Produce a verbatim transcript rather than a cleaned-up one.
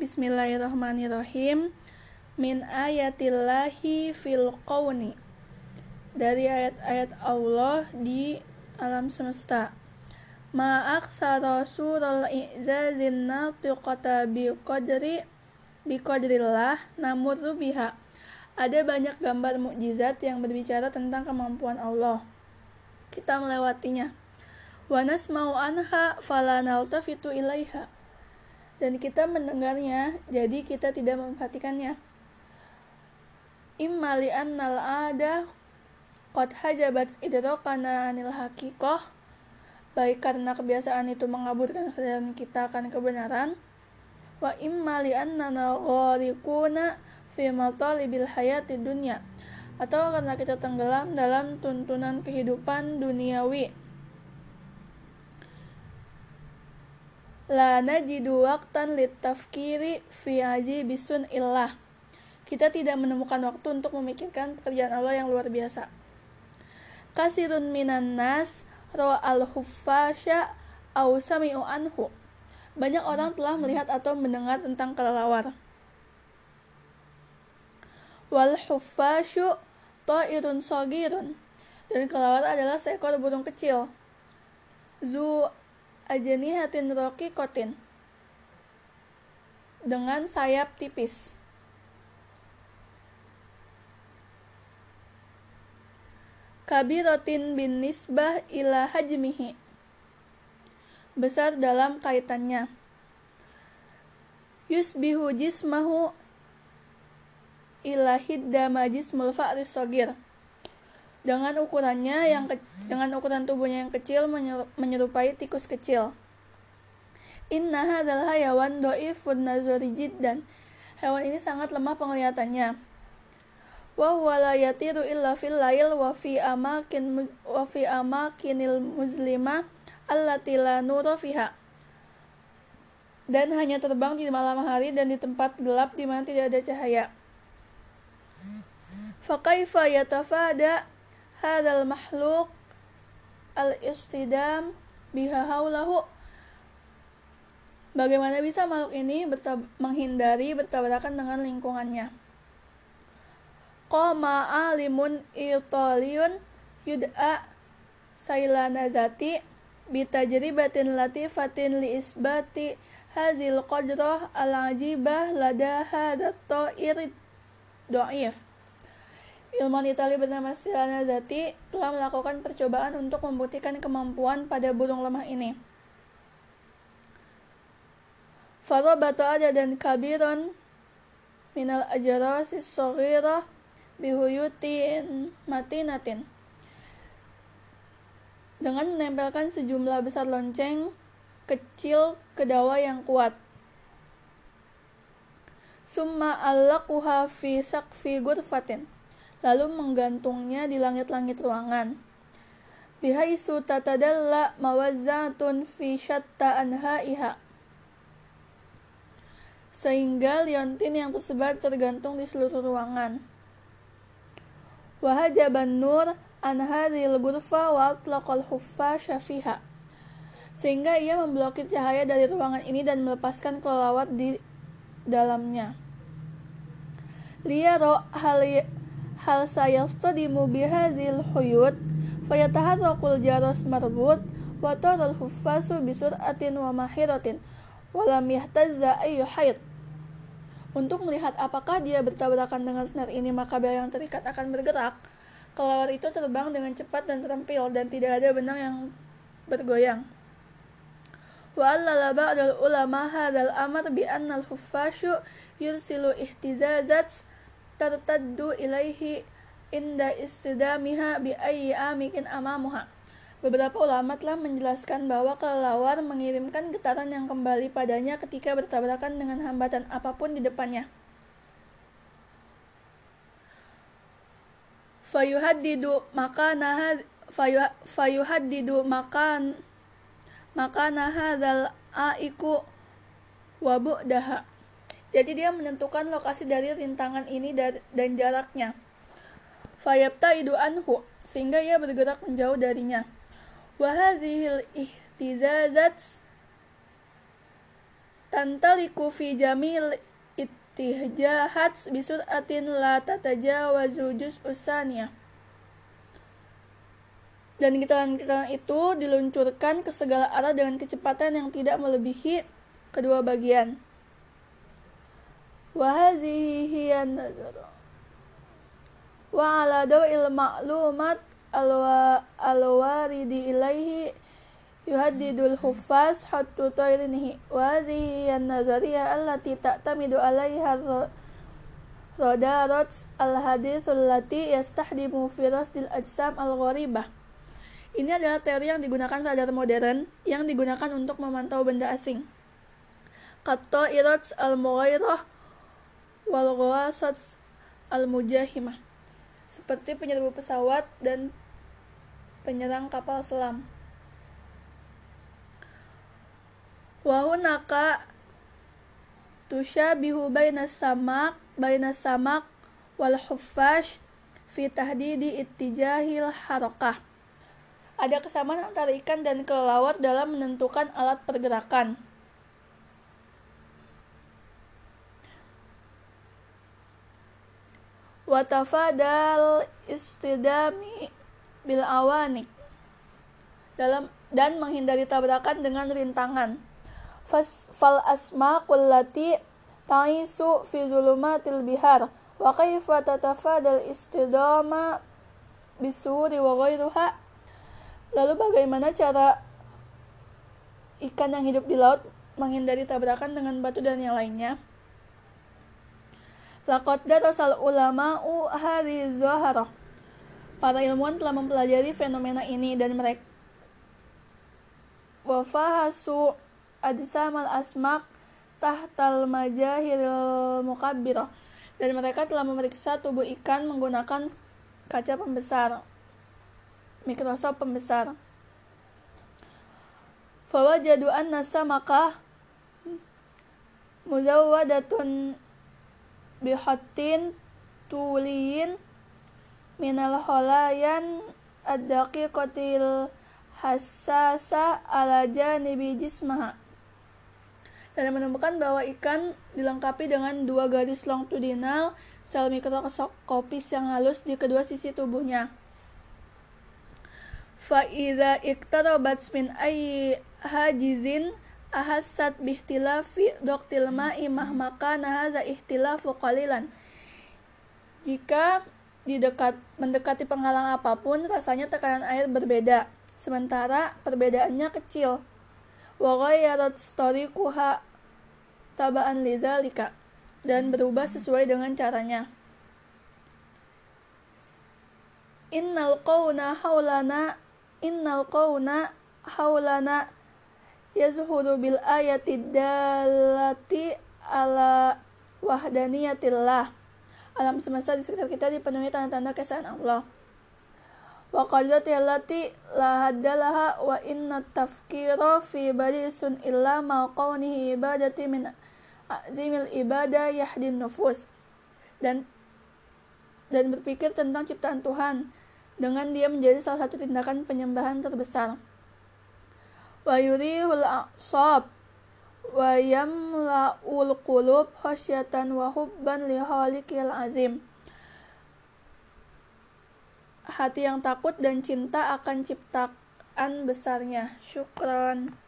Bismillahirrahmanirrahim. Min ayatillahi fil qawni. Dari ayat-ayat Allah di alam semesta. Ma'aksara surul i'zazin natiqata biqadri biqadrillah namurru biha. Ada banyak gambar mukjizat yang berbicara tentang kemampuan Allah. Kita melewatinya. Wa nasma'u anha fala naltafitu ilaiha. Dan kita mendengarnya, jadi kita tidak memperhatikannya. Imma li'annal ada qad hajabat idrakana anil haqiqah, baik karena kebiasaan itu mengaburkan kesadaran kita akan kebenaran. Wa imma li'annana ghariquna fi matalibil hayati dunya, atau karena kita tenggelam dalam tuntunan kehidupan duniawi. La najidu waqtan litafkiri fi ajibi sun'illah. Kita tidak menemukan waktu untuk memikirkan pekerjaan Allah yang luar biasa. Kasirun minan nas ra'al huffasha aw sami'u anhu. Banyak orang telah melihat atau mendengar tentang kelelawar. Wal huffashu ta'irun shagirun. Dan kelelawar adalah seekor burung kecil. Zu ajnihatin raqiqatin, dengan sayap tipis. Kabiratin bin nisbah ila hajmihi, besar dalam kaitannya. Yusbihu jismahu ila hidda majismul fa'ris shagir, dengan ukurannya yang ke- dengan ukuran tubuhnya yang kecil menyerupai tikus kecil. Inna hadzal hayawan dhaifun nazari jiddan. Hewan ini sangat lemah penglihatannya. Wa huwa la yatiru illa fil lail wa fi amakin wa fi amakinil muzlima allati la nura fiha. Dan hanya terbang di malam hari dan di tempat gelap di mana tidak ada cahaya. Fa kaifa yatafada hadzal makhluk al-istidam biha haulahu. Bagaimana bisa makhluk ini bertab- menghindari bertabrakan dengan lingkungannya? Qama alimun italiyun yud'a sailanazati bitajribatin latifatin li isbati hazil qadrah al-ajibah lada hadat ta'ir do'if. Ilmuwan Italia bernama Sailanazati telah melakukan percobaan untuk membuktikan kemampuan pada burung lemah ini. Farabatu adadan kabiran minal ajarasis shaghirah bihuyutin matinatin, dengan menempelkan sejumlah besar lonceng kecil ke dawa yang kuat. Summa allaquha fi saqfi ghurfatin, lalu menggantungnya di langit-langit ruangan. Bihaisu tatadalla mawazzatun fi syatta anha'iha, sehingga liontin yang tersebar tergantung di seluruh ruangan. Wahajaban nur an hadhil ghurfa wa atlaqal huffasha fiha, sehingga ia memblokir cahaya dari ruangan ini dan melepaskan kelelawar di dalamnya. Liyaro hal hal sayastadimu bihadzil huyud fayataharrakul jaros marbut wa taral huffasu bisur'atin wa mahiratin wa lam yahtazza ayyu hayd. Untuk melihat apakah dia bertabrakan dengan senar ini, maka bel yang terikat akan bergerak. Kelelawar itu terbang dengan cepat dan terampil, dan tidak ada benang yang bergoyang. Wa allala ba'dal ulama hadzal amr bi anna al-huffashu yursilu ihtizazat tartaddu ilaihi inda istidamiha bi ayyi amikin amamuha. Beberapa ulama telah menjelaskan bahwa kelelawar mengirimkan getaran yang kembali padanya ketika bertabrakan dengan hambatan apapun di depannya. Fayuhaddidu makana fayuhaddidu makan makana hadzal aiku wa bu'daha. Jadi dia menentukan lokasi dari rintangan ini dan jaraknya. Fayabtaidu anhu, sehingga ia bergerak menjauh darinya. Wa hadhil ihtizazat tantaliku fi jamil ittihjahat bisur'atin la tatajawazu juz'us saniyah. Dan getaran-getaran itu diluncurkan ke segala arah dengan kecepatan yang tidak melebihi kedua bagian. Wa hazihi hiya an-nazar. Wa ala daw'il ma'lumat al-waridi ilaihi yuhaddidul huffaz hattu tayrinihi. Wa hazihi hiya an-nazariyah allati ta'tamidu alaiha radarat al-hadithul lati yastahdimu fi rasdil ajsam al-gharibah. Ini adalah teori yang digunakan radar modern yang digunakan untuk memantau benda asing. Qatta'irats al-mughairah wal ghawasats al-mujahimah, seperti penyerbu pesawat dan penyerang kapal selam. Wa hunaka tusyabihu bainas samak bainas samak wal huffash fi tahdidi ittijahil harakah. Ada kesamaan antara ikan dan kelelawar dalam menentukan alat pergerakan. Wa tafadal istidami bil awanik, dalam dan menghindari tabrakan dengan rintangan. Fas fal asmaqul lati ta'isu fi zulumatil bihar wa kaifa tatafadal istidama bisuri wa ghairuha. Lalu bagaimana cara ikan yang hidup di laut menghindari tabrakan dengan batu dan yang lainnya? Laqad darasal ulama'u hadhihi zaharah. Para ilmuwan telah mempelajari fenomena ini dan mereka wa fahasu ajsamal asmaq tahtal majahiril mukabbirah, dan mereka telah memeriksa tubuh ikan menggunakan kaca pembesar, mikroskop pembesar. Fawajadu anna samakah muzawwadatun bihatin tuliyin minal holayan ad-daqiqatil hassasa ala janibi jismaha, dan menemukan bahwa ikan dilengkapi dengan dua garis longitudinal sel mikroskopis yang halus di kedua sisi tubuhnya. Fa idza iqtarabat min ayyi hajizin ahassat bihtilafi daqtil ma'i mahma kana hadza ihtilafu qalilan. Jika didekat mendekati penghalang apapun, rasanya tekanan air berbeda, sementara perbedaannya kecil. Wa ghayyarat tariquha taba'an lidzalika, dan berubah sesuai dengan caranya. Innal qawna haulana innal qawna haulana yazhuru bil ayati dallati ala wahdaniyatillah. Alam semesta di sekitar kita dipenuhi tanda-tanda keesaan Allah. Wa qadati allati la haddalaha wa inna tafkira fi badisun illa ma qawnihi ibadati min azimil ibadah yahdin nufus. Dan dan berpikir tentang ciptaan Tuhan dengan dia menjadi salah satu tindakan penyembahan terbesar. Wa yurihul a'sab wa yamla'ul qulub khasyatan wa hubban li khaliqil azim. Hati yang takut dan cinta akan ciptaan besarnya. Syukran.